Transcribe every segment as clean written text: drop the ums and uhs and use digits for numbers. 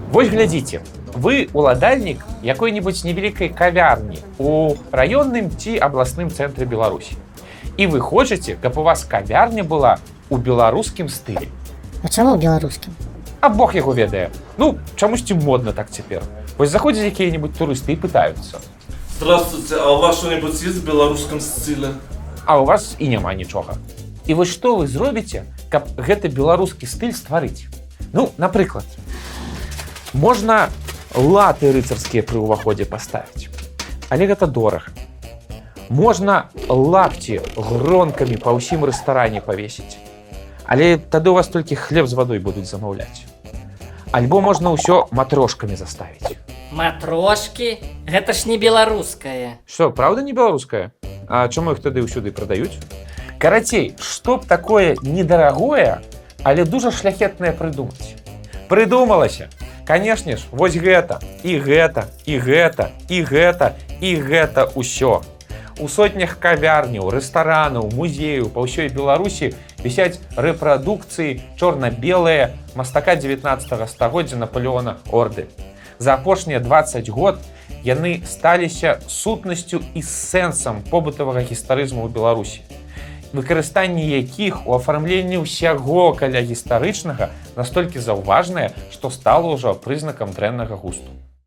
Вось глядзіце, вы уладальнік якой-нибудь невялікай кавярні у раённым ці абласным цэнтры Беларусі. І вы хочаце, каб у вас кавярня была у беларускім стылі. А чаму беларускім? А бог яго ведае. Ну, чамусьці модна так цяпер. Вось заходзяць якія-нибудь турысты і пытаюцца. Здравствуйте, а у вас что-нибудь есть в белорусском стиле? А у вас і няма нічога. І вось што вы зробіце, каб гэты беларускі стыль стварыць? Ну, напрыклад, можна латы рыцарскія пры ўваходзе паставіць. Але гэта дорага. Можна лапці гронкамі па ўсім рэстаране павесіць. Але тады у вас толькі хлеб з вадой будуць замаўляць. Альбо можна ўсё матрошкамі заставіць. Матрошкі? Гэта ж не беларускае. Што, правда не беларускае? А чаму іх тады ўсюды прадаюць? Карацей, што б такое недарагое, але дужа шляхетнае прыдумаць? Прыдумалася! Канешне ж, вось гэта, і гэта, і гэта, і гэта, і гэта ўсё. У сотнях кавярняў, рэстаранаў, музеяў па ўсёй Беларусі вісяць рэпрадукцыі чорна-белыя мастака 19 стагоддзя Наполеона Орды. За апошнія 20 год яны сталіся сутнасцю і сэнсам побытавага гістарызму ў Беларусі, выкарыстанне якіх у афармленні ўсяго каля гістарычнага настолькі заўважнае, што стала ўжо прызнакам дрэннага густу.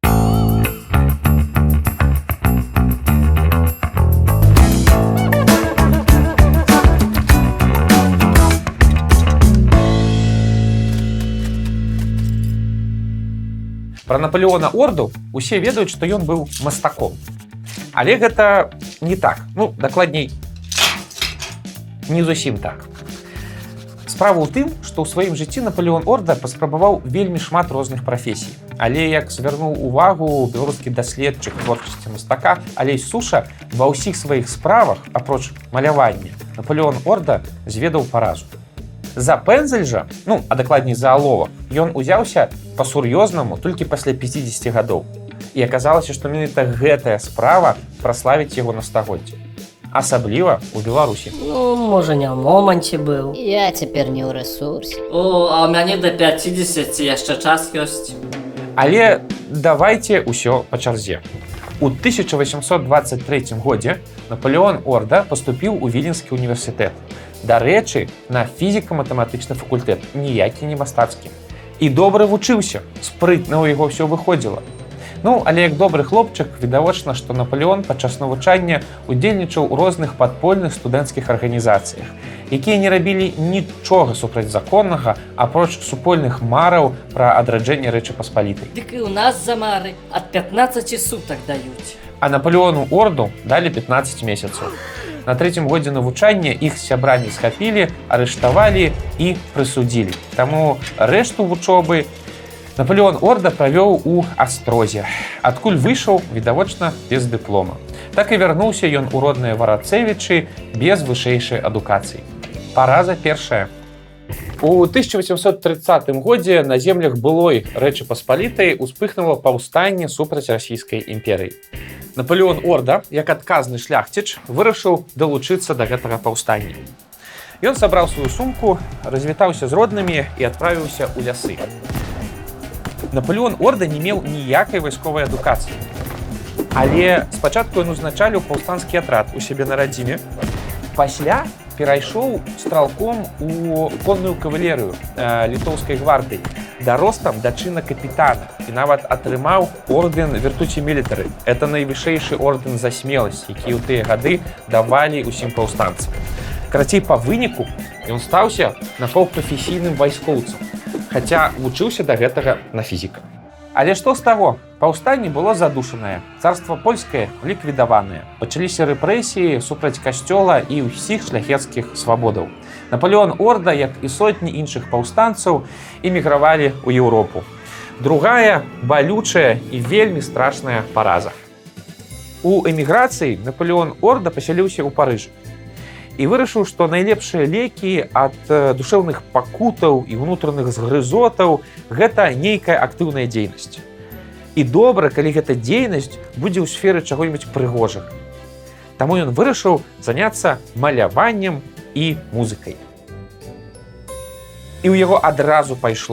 Пра Наполеона Орду усе ведаюць, што ён быў мастаком. Але гэта не так. Ну, дакладней, не зусім так. Справа ў тым, што ў сваім жыцці Наполеон Орда паспрабаваў вельмі шмат розных прафесій. Але, як звярнуў увагу беларускі даследчык творчасці мастака Алесь Суша, ва ўсіх сваіх справах, апроч малявання, Наполеон Орда зведаў паразу. За пэндзель жа, ну, а дакладней за аловак, ён узяўся па-сур'ёзнаму толькі пасля 50 гадоў. І аказалася, што менавіта гэтая справа праславіць яго на стагоддзе. Асабліва ў Беларусі. Ну, можа, не ў моманце быў. Я цяпер не ў рэсурсе. О, а ў мяне да 50 яшчэ час ёсць. Але давайце ўсё па чарзе. У 1823 годзе Наполеон Орда паступіў у Віленскі універсітэт. Дарэчы, на фізіка-матэматычны факультэт, ніякі не мастацкі. І добра вучыўся, спрытна ў яго ўсё выходзіла. Ну, але як добры хлопчык, відавочна, што Наполеон падчас навучання удзельнічаў у розных падпольных студэнцкіх арганізацыях, якія не рабілі нічога супрацьзаконнага, апроч супольных мараў пра адраджэнне Рэчы Паспалітай. Дык і ў нас за мары ад 15 сутак даюць. А Наполеону Орду далі 15 месяцаў. На трэцім годзе навучання іх сябрамі схапілі, арыштавалі і прысудзілі. Таму рэшту вучобы Наполеон Орда правёў у Астрозе, адкуль выйшаў, відавочна, без дыплома. Так і вярнуўся ён у родныя Варацэвічы без вышэйшай адукацыі. Параза першая. У 1830 годзе на землях былой Рэчы Паспалітай успыхнула паўстанне супраць расійскай імперыі. Наполеон Орда, як адказны шляхціч, вырашыў далучыцца да гэтага паўстання. Ён сабраў сваю сумку, развітаўся з роднымі і адправіўся ў лясы. Наполеон Орда не меў ніякай вайсковай адукацыі. Але спачатку ён узначаліў паўстанскі атрад у сябе на радзіме. Пасля перайшоў стралком у конную кавалерыю літоўскай гвардыі, даростам да чына капітана і нават атрымаў ордэн Віртуці Мілітары. Это найвышэйшы ордэн за смеласць, які ў тыя гады давалі ўсім паўстанцам. Карацей, па выніку ён стаўся напаўпрафесійным вайскоўцам, хаця вучыўся да гэтага на фізіка. Але што з таго? Паўстанне было задушанае, царства польскае ліквідаванае. Пачаліся рэпрэсіі супраць касцёла і ўсіх шляхецкіх свабодаў. Наполеон Орда, як і сотні іншых паўстанцаў, эмігравалі ў Еўропу. Другая балючая і вельмі страшная параза. У эміграцыі Наполеон Орда пасяліўся ў Парыжы і вырашыў, што найлепшыя лекі ад душэўных пакутаў і ўнутраных згрызотаў гэта нейкая актыўная дзейнасць. І добра, калі гэта дзейнасць будзе ў сферы чаго-нибудь прыгожага. Таму ён вырашыў заняцца маляваннем і музыкай. І ў яго адразу пайшло.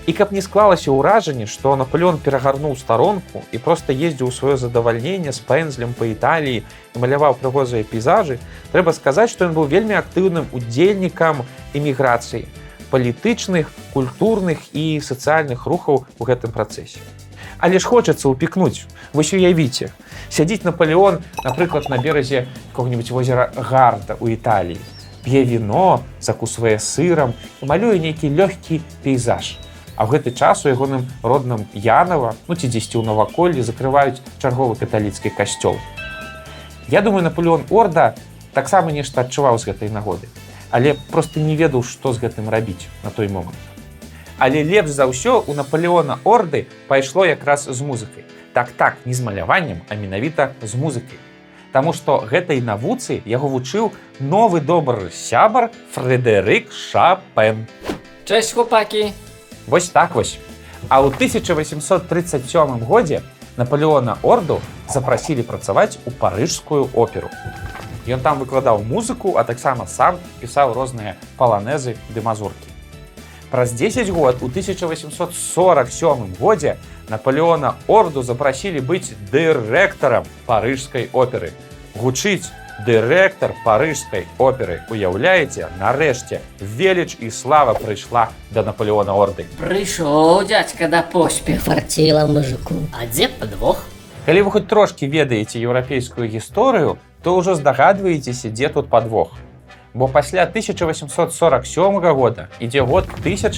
І каб не склалася ўражанне, што Наполеон перагарнуў старонку і проста ездзіў у сваё задавальненне з пэндзлем па Італіі і маляваў прыгожыя пейзажы, трэба сказаць, што ён быў вельмі актыўным удзельнікам эміграцыі, палітычных, культурных і сацыяльных рухаў у гэтым працэсе. Але ж хочацца ўпікнуць. Вось уявіце, сядзіць Наполеон, напрыклад, на беразе какого-нибудь возера Гарда ў Італіі, п'е віно, закусвае сырам і малюе нейкі лёгкі пейзаж. А ў гэты час у ягоным родным Янова, ці дзесьці ў наваколлі, закрываюць чарговы каталіцкі касцёл. Я думаю, Наполеон Орда таксама нешта адчуваў з гэтай нагоды, але проста не ведаў, што з гэтым рабіць на той момант. Але лепш за ўсё у Наполеона Орды пайшло якраз з музыкай. Так, не з маляваннем, а менавіта з музыкай. Таму што гэтай навуцы яго вучыў новы добры сябар Фрэдэрык Шапен. Cześć chłopaki! Вось так вось. А ў 1837 годзе Наполеона Орду запрасілі працаваць у парыжскую оперу. Ён там выкладаў музыку, а таксама сам пісаў розныя паланезы ды мазуркі. Праз 10 год, у 1847 годзе, Наполеона Орду запрасілі быць дырэктарам парыжскай оперы. Гучыць дырэктар парыжскай оперы. Уяўляеце, нарэшце, веліч і слава прыйшла да Наполеона Орды. Пришел дядька до поспеху. Фартила мужику. А где подвох? Калі вы хоць трошкі ведаеце еўрапейскую гісторыю, то ўжо здагадваецеся, дзе тут падвох. Бо пасля 1847 года ідзе год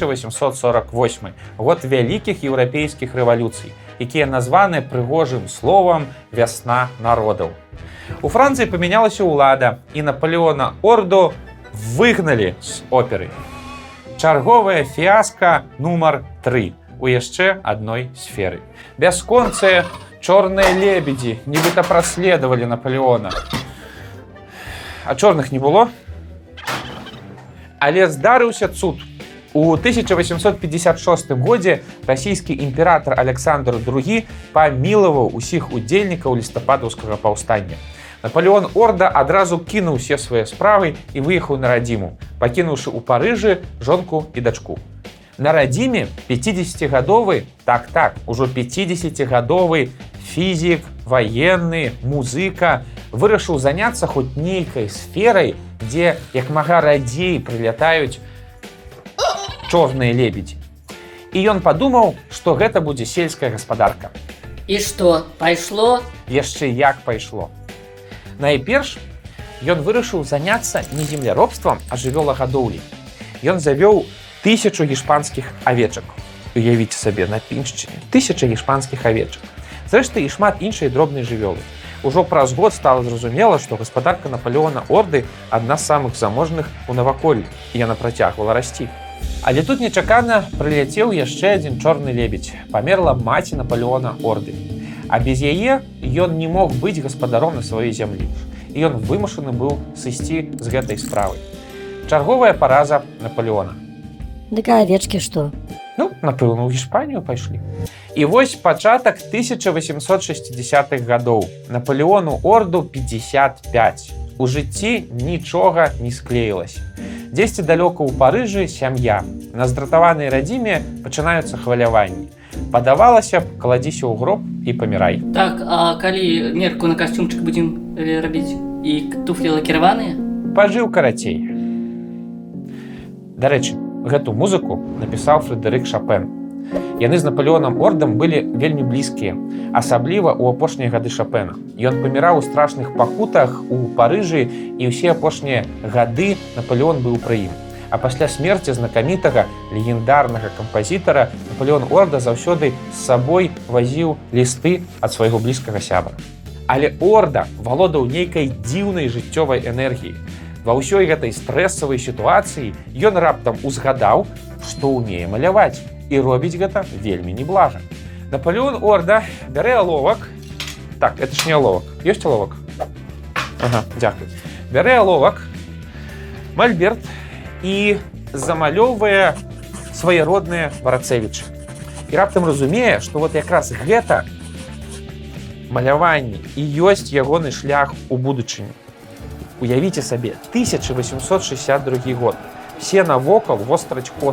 1848, год вялікіх еўрапейскіх рэвалюцый, якія названы прыгожым словам «Вясна народаў». У Францыі памянялася ўлада, і Наполеона Орду выгналі з оперы. Чарговая фіаска нумар 3 у яшчэ адной сферы. Бясконцыя чорныя лебедзі нібыта праследавалі Наполеона. А чорных не было? Але здарыўся цуд. У 1856 годзе расійскі імператар Александр II памілаваў усіх удзельнікаў лістападаўскага паўстання. Наполеон Орда адразу кінуў усе свае справы і выехаў на радзіму, пакінуўшы ў Парыжы жонку і дачку. На радзіме 50-гадовы, ужо 50-гадовы фізік, ваенны, музыка вырашыў заняцца хоць нейкай сферай, дзе як мага радзей прылятаюць чорныя лебедзі. І ён падумаў, што гэта будзе сельская гаспадарка. И что, пайшло? Яшчэ як пайшло. Найперш, ён вырашыў заняцца не земляробствам, а жывёлагадоўляй. Ён завёў 1000 гішпанскіх авечак. Уявіце сабе, на Піншчыне 1000 гішпанскіх авечак. Зрэшты, і шмат іншай дробнай жывёлы. Ужо праз год стала зразумела, што гаспадарка Наполеона Орды адна з самых заможных у наваколлі, і яна працягвала расці. Але тут нечакана прыляцеў яшчэ адзін чорны лебедзь. Памерла маці Наполеона Орды. А без яе ён не мог быць гаспадаром на сваёй зямлі. І ён вымушаны быў сысці з гэтай справай. Чарговая параза Наполеона. Дык а овечки что? Напэўна, у Гішпанію пайшлі. І вось пачатак 1860-х гадоў. Наполеону Орду 55. У жыцці нічога не склеілася. Дзесьці далёка ў Парыжы сям'я. На здратаванай радзіме пачынаюцца хваляванні. Падавалася б, кладзіся ў гроб і памірай. Так, а калі мерку на касцюмчык будзем рабіць? І туфлі лакіраваныя? Пажыў карацей. Дарэчы, гэту музыку напісаў Фрэдэрык Шапен. Яны з Наполеонам Ордам былі вельмі блізкія, асабліва ў апошнія гады Шапена. Ён паміраў у страшных пакутах у Парыжы, і ўсе апошнія гады Наполеон быў пры ім. А пасля смерці знакамітага легендарнага кампазітара Наполеон Орда заўсёды з сабой вазіў лісты ад свайго блізкага сябра. Але Орда валодаў нейкай дзіўнай жыццёвай энергіяй. Ва ўсёй гэтай стрэсавай сітуацыі ён раптам узгадаў, што ўмее маляваць, і робіць гэта вельмі неблага. Наполеон Орда бярэ аловак. Так, это ж не аловак. Ёсць аловак? Ага, дзякуй. Бярэ аловак, мальберт і замалёўвае свае родныя варацэвічы. І раптам разумее, што вот якраз гэта маляванне і ёсць ягоны шлях у будучыню. Уявіце сабе, 1862 год. Все навокал востраць косы.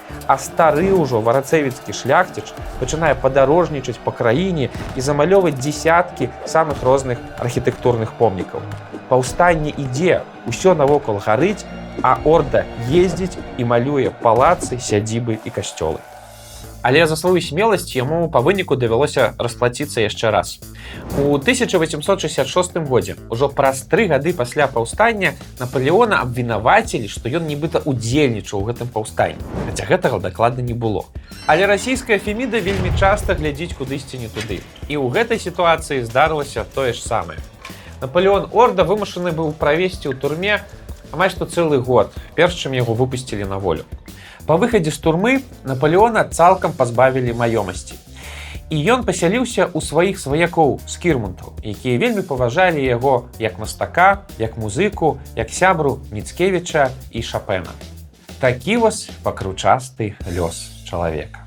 А стары ўжо варацэвіцкі шляхціч пачынае падарожнічаць па краіне і замалёваць дзесяткі самых розных архітэктурных помнікаў. Паўстанне ідзе, усё навокал гарыць, а орда ездзіць і малюе палацы, сядзібы і касцёлы. Але за сваю смеласць яму па выніку давялося расплаціцца яшчэ раз. У 1866 годзе, ужо праз 3 гады пасля паўстання, Напалеона абвінавацілі, што ён нібыта удзельнічаў у гэтым паўстанні, хаця гэтага дакладна не было. Але расійская Феміда вельмі часта глядзіць кудысьці не туды. І ў гэтай сітуацыі здарылася тое ж самае. Напалеон Орда вымушаны быў правесці ў турме амаль што цэлы год, перш чым яго выпусцілі на волю. Па выхадзе з турмы Напалеона цалкам пазбавілі маёмасці. І ён пасяліўся ў сваіх сваякоў з кірмунтаў, якія вельмі паважалі яго як мастака, як музыку, як сябру Міцкевіча і Шапена. Такі вось пакручасты лёс чалавека.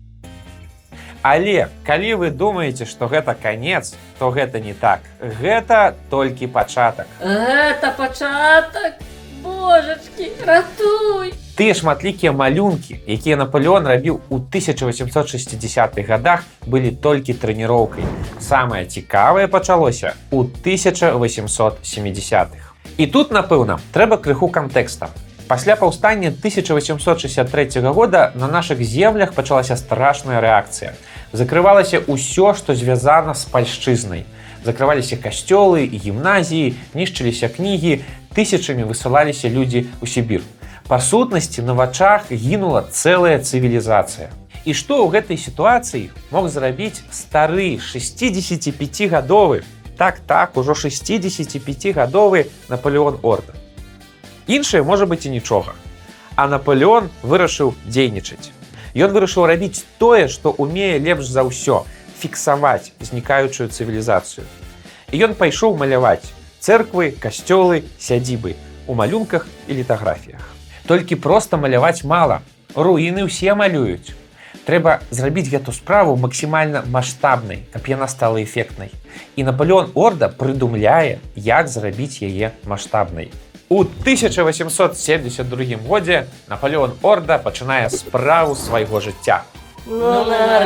Але калі вы думаеце, што гэта канец, то гэта не так. Гэта толькі пачатак. Гэта пачатак? Божачкі, ратуй! Тыя шматлікія малюнкі, якія Напалеон рабіў у 1860-х гадах, былі толькі трэніроўкай. Самае цікавае пачалося ў 1870-х. І тут, напэўна, трэба крыху кантэкста. Пасля паўстання 1863 года на нашых землях пачалася страшная рэакцыя. Закрывалася ўсё, што звязана з пальшчызнай. Закрываліся касцёлы і гімназіі, нішчыліся кнігі, тысячамі высылаліся людзі ў Сібір. Па сутнасці, на вачах гінула цэлая цывілізацыя. І што ў гэтай сітуацыі мог зрабіць стары 65-гадовы, так, ужо 65-гадовы Напалеон Орда? Іншае можа быць і нічога. А Напалеон вырашыў дзейнічаць. Ён вырашыў рабіць тое, што ўмее лепш за ўсё – фіксаваць знікаючую цывілізацыю. І ён пайшоў маляваць цэрквы, касцёлы, сядзібы у малюнках і літаграфіях. Толькі проста маляваць мала. Руіны ўсе малююць. Трэба зрабіць гэту справу максімальна маштабнай, каб яна стала эфектнай. І Напалеон Орда прыдумляе, як зрабіць яе маштабнай. У 1872 годзе Напалеон Орда пачынае справу свайго жыцця. Ну,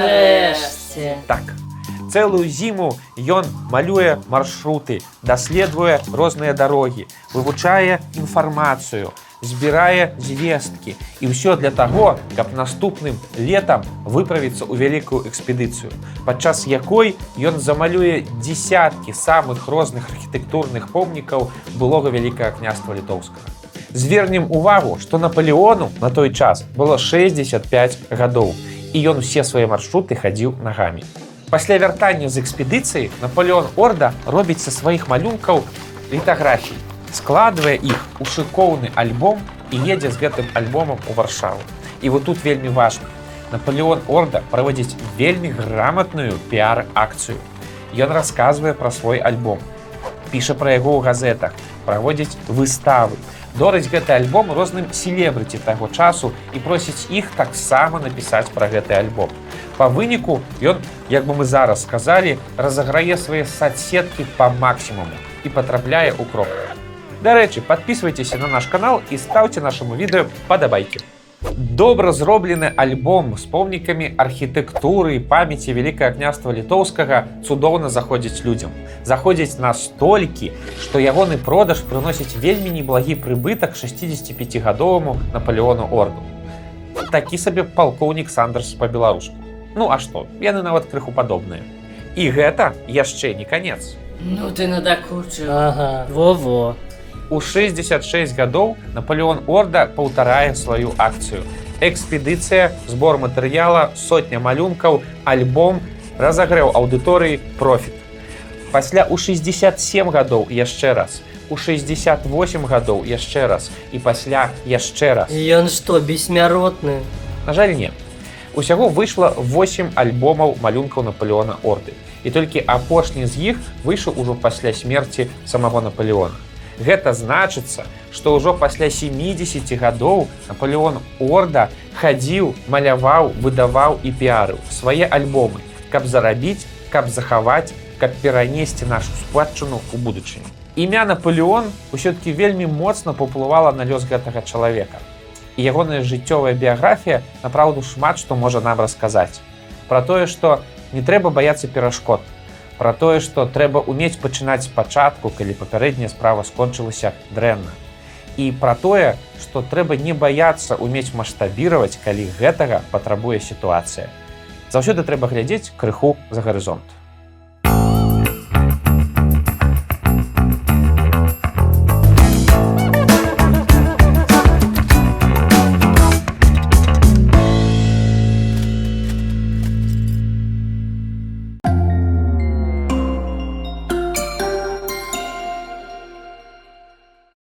нарэшце. Так, цэлую зіму ён малюе маршруты, даследуе розныя дарогі, вывучае інфармацыю, збірае звесткі. І ўсё для таго, каб наступным летам выправіцца ў вялікую экспедыцыю, падчас якой ён замалюе дзесяткі самых розных архітэктурных помнікаў былога Вялікага княства Літоўскага. Звернем увагу, што Напалеону на той час было 65 гадоў, і ён усе свае маршруты хадзіў нагамі. Пасля вяртання з экспедыцыі Напалеон Орда робіць са сваіх малюнкаў літаграфіі, складвае іх у шыкоўны альбом і едзе з гэтым альбомам у Варшаву. І вот тут вельмі важна. Напалеон Орда праводзіць вельмі граматную піар-акцыю. Ён расказвае пра свой альбом, піша пра яго ў газетах, праводзіць выставы, дорыць гэты альбом розным селебрыці таго часу і просіць іх таксама напісаць пра гэты альбом. Па выніку ён, як бы мы зараз сказалі, разаграе свае соцсеткі па максімуму і патрапляе ў кропку. Дарэчы, подписывайтесь на наш канал і ставьте нашему відэо падабайкі. Добра зроблены альбом з помнікамі архітэктуры і памяці Вялікага княства Літоўскага цудоўна заходзіць людзям. Заходзіць настолькі, што ягоны продаж прыносіць вельмі неблагі прыбытак 65-гадоваму Напалеону Орду. Такі сабе палкоўнік Сандерс па-беларуску. Ну а што, яны нават крыху падобныя. І гэта яшчэ не канец. Ну ты надакучыў. Ага, во-во. У 66 гадоў Напалеон Орда паўтарае сваю акцыю. Экспедыцыя, збор матэрыяла, сотня малюнкаў, альбом, разагрэў аўдыторыі, профіт. Пасля у 67 гадоў яшчэ раз, у 68 гадоў яшчэ раз і пасля яшчэ раз. Ён што, бессмяротны? На жаль, не. Усяго выйшла 8 альбомаў малюнкаў Напалеона Орды. І толькі апошні з іх выйшаў ужо пасля смерці самого Напалеона. Гэта значыцца, што ўжо пасля 70 гадоў Напалеон Орда хадзіў, маляваў, выдаваў і піарыў свае альбомы, каб зарабіць, каб захаваць, каб перанесці нашу спадчыну ў будучыню. Імя Напалеон усё-такі вельмі моцна паўплывала на лёс гэтага чалавека. І ягоная жыццёвая біяграфія направду шмат што можа нам расказаць. Пра тое, што не трэба баяцца перашкод, пра тое, што трэба ўмець пачынаць спачатку, калі папярэдняя справа скончылася дрэнна. І пра тое, што трэба не баяцца ўмець маштабіраваць, калі гэтага патрабуе сітуацыя. Заўсёды трэба глядзець крыху за гарызонт.